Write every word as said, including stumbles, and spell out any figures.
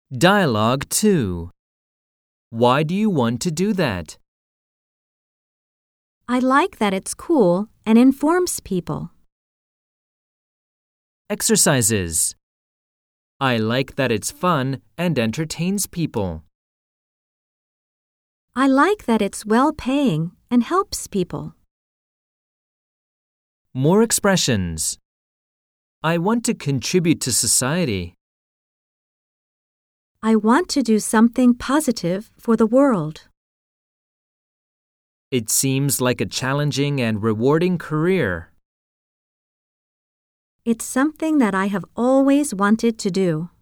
Dialogue two. Why do you want to do that? I like that it's cool and informs people. Exercises. I like that it's fun and entertains people. I like that it's well-paying and helps people. More expressions. I want to contribute to society. I want to do something positive for the world. It seems like a challenging and rewarding career. It's something that I have always wanted to do.